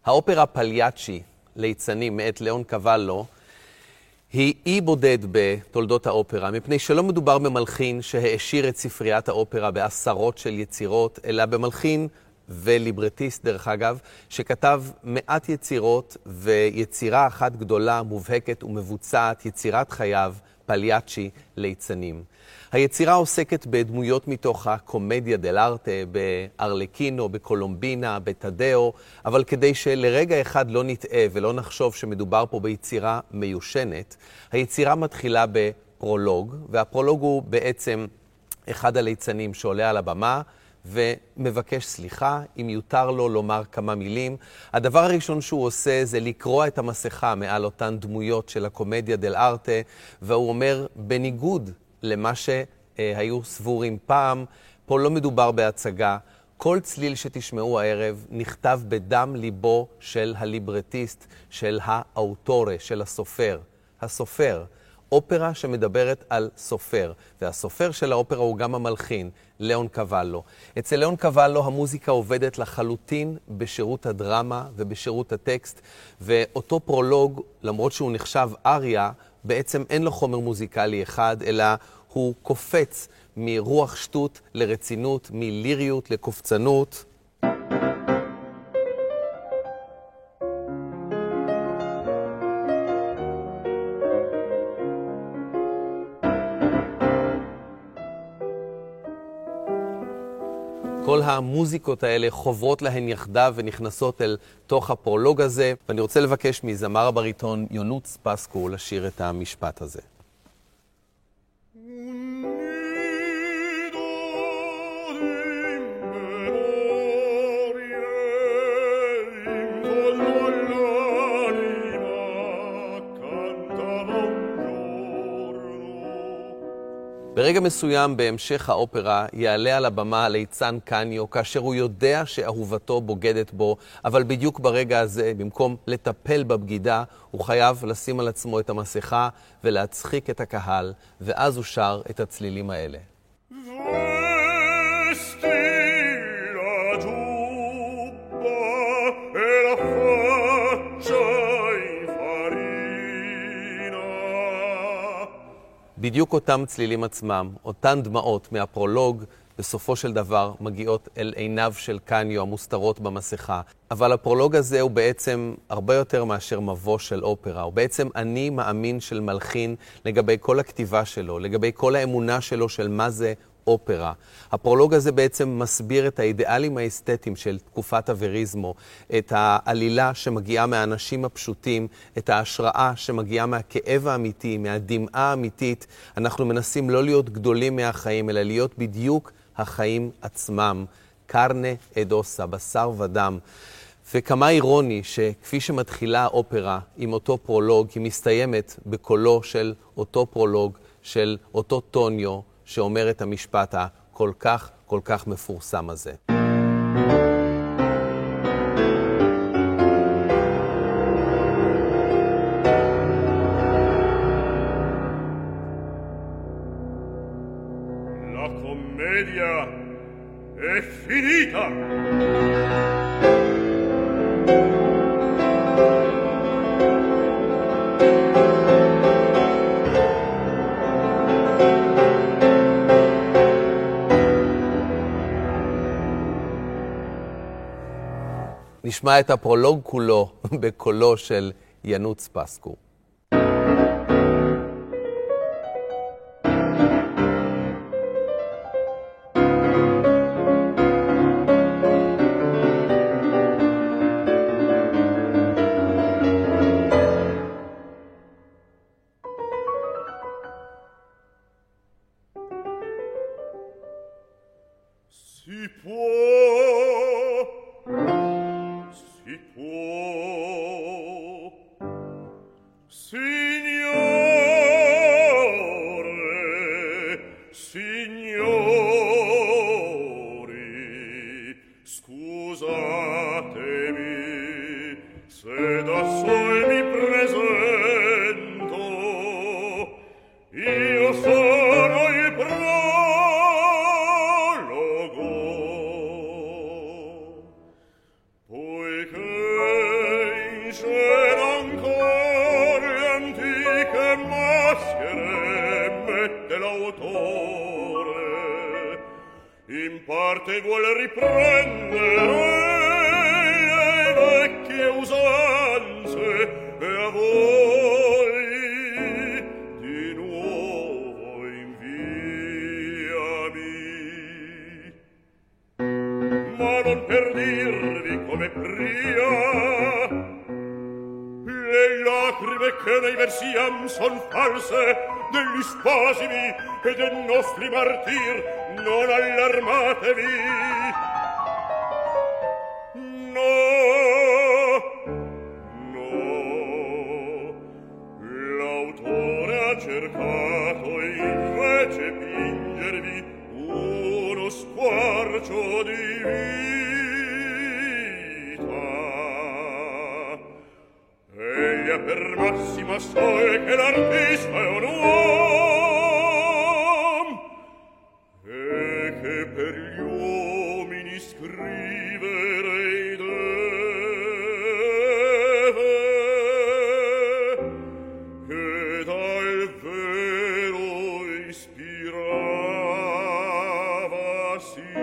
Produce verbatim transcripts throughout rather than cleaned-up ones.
האופרה פליאצ'י, ליצנים, מאת ליאון קוואלו, היא אי בודד בתולדות האופרה, מפני שלא מדובר במלחין שהעשיר את ספריית האופרה בעשרות של יצירות, אלא במלחין וליברטיסט, דרך אגב, שכתב מעט יצירות ויצירה אחת גדולה, מובהקת ומבוצעת, יצירת חייו, פליאצ'י, ליצנים. היצירה עוסקת בדמויות מתוך הקומדיה דל ארטה, בארלקינו, בקולומבינה, בטדאו, אבל כדי שלרגע אחד לא נטעה ולא נחשוב שמדובר פה ביצירה מיושנת, היצירה מתחילה בפרולוג, והפרולוג הוא בעצם אחד הליצנים שעולה על הבמה ומבקש סליחה, אם יותר לו לומר כמה מילים. הדבר הראשון שהוא עושה זה לקרוע את המסכה מעל אותן דמויות של הקומדיה דל ארטה, והוא אומר, בניגוד למה שהיו סבורים פעם, פה לא מדובר בהצגה. כל צליל שתשמעו הערב נכתב בדם ליבו של הליברטיסט, של האוטורה, של הסופר. הסופר, אופרה שמדברת על סופר, והסופר של האופרה הוא גם המלחין, ליאון קוואלו. אצל ליאון קוואלו המוזיקה עובדת לחלוטין בשירות הדרמה ובשירות הטקסט, ואותו פרולוג, למרות שהוא נחשב אריה, בעצם אין לו חומר מוזיקלי אחד, אלא הוא קופץ מרוח שטות לרצינות, מליריות לקופצנות. כל המוזיקות האלה חוברות להן יחדיו ונכנסות אל תוך הפרולוג הזה, ואני רוצה לבקש מזמר הבריטון יונוץ פסקו לשיר את המשפט הזה. ברגע מסוים בהמשך האופרה יעלה על הבמה הליצן קניו, כאשר הוא יודע שאהובתו בוגדת בו, אבל בדיוק ברגע הזה, במקום לטפל בבגידה, הוא חייב לשים על עצמו את המסכה ולהצחיק את הקהל, ואז הוא שר את הצלילים האלה. בדיוק אותם צלילים עצמם, אותן דמעות מהפרולוג, בסופו של דבר מגיעות אל עיניו של קניו המוסתרות במסכה. אבל הפרולוג הזה הוא בעצם הרבה יותר מאשר מבוא של אופרה. הוא בעצם אני מאמין של מלחין לגבי כל הכתיבה שלו, לגבי כל האמונה שלו של מה זה אופרה. הפרולוג הזה בעצם מסביר את האידיאלים האסתטיים של תקופת הווריזמו, את העלילה שמגיעה מהאנשים הפשוטים, את ההשראה שמגיעה מהכאב האמיתי, מהדמעה האמיתית. אנחנו מנסים לא להיות גדולים מהחיים, אלא להיות בדיוק החיים עצמם. קרנה אדוסה, בשר ודם. וכמה אירוני שכפי שמתחילה האופרה עם אותו פרולוג, היא מסתיימת בקולו של אותו פרולוג, של אותו טוניו, שאומר את המשפט הכל כך, כל כך מפורסם הזה. La commedia è finita! נשמע את הפרולוג כולו בקולו של ינוץ פסקו. Si può Si può, signore, signori, scusatemi se da sol mi presento, io sono il prologo, poiché l'autore in parte vuol riprendere le vecchie usanze e a voi di nuovo inviami, ma non per dirvi come pria le lacrime che nei versiam son false degli spasimi e dei nostri martir, non allarmatevi. No, no, l'autore ha cercato invece pingervi uno squarcio di vita. Egli ha per massima sole che l'artista è un uom e che per gli uomini scriverei deve, che dal vero ispiravasi.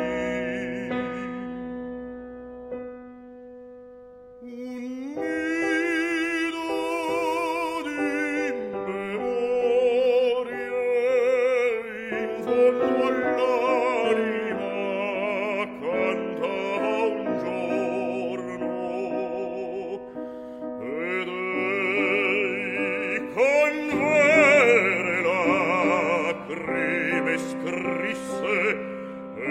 Un nido di memorie in fondo all'anima cantava un giorno, ed ei con vere lacrime scrisse e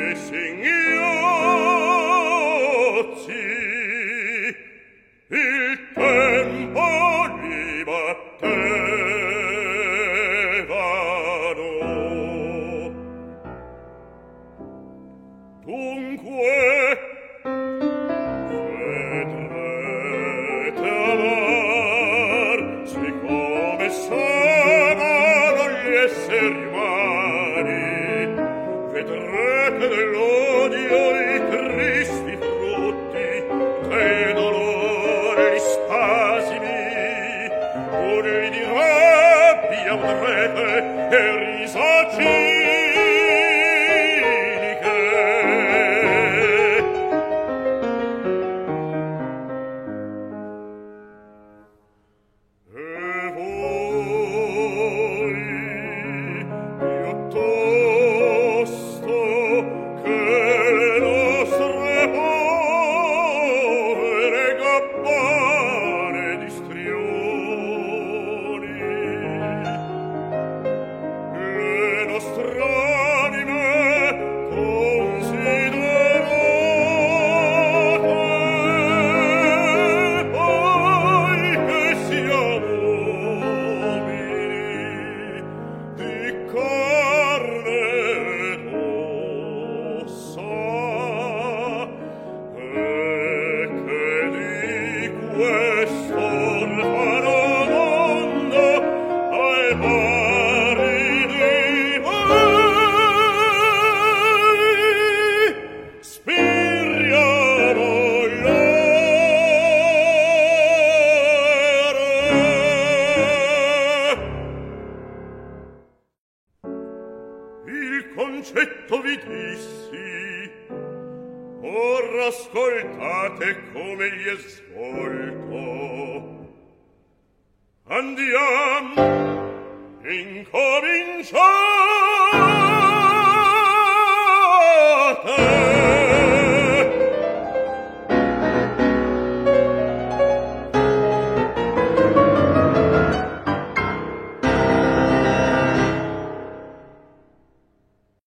singhiozzi il tempo li battevano. Dunque vedrete amar siccome s'amano gli esseri umani, vedrete dell'odio i tristi frutti, dei dolori gli spasimi, urli di rabbia udrete e risa ciniche. E voi, piuttosto che le nostre povere gabbane di strioni, le nostre anime considerate, poi che siamo uomini di carne ed ossa, e che di questo orfano mondo ai pari di voi spiriamo l'ore. Il concetto vi dissi, ora ascoltate come gli è svolto. Andiamo, incominciamo.